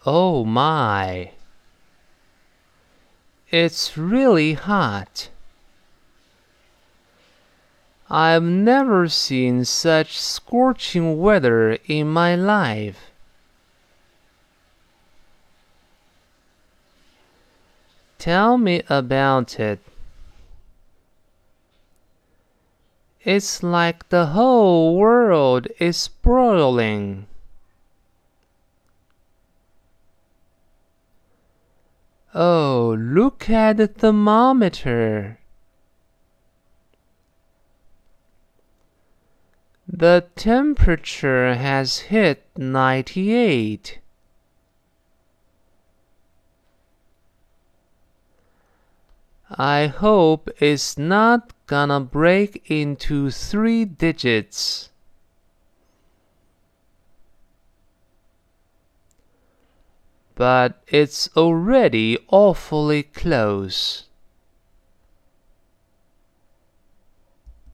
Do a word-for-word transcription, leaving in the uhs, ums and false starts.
Oh my! It's really hot. I've never seen such scorching weather in my life. Tell me about it. It's like the whole world is boiling. Oh, look at the thermometer. The temperature has hit ninety-eight. I hope it's not gonna break into three digits. But it's already awfully close.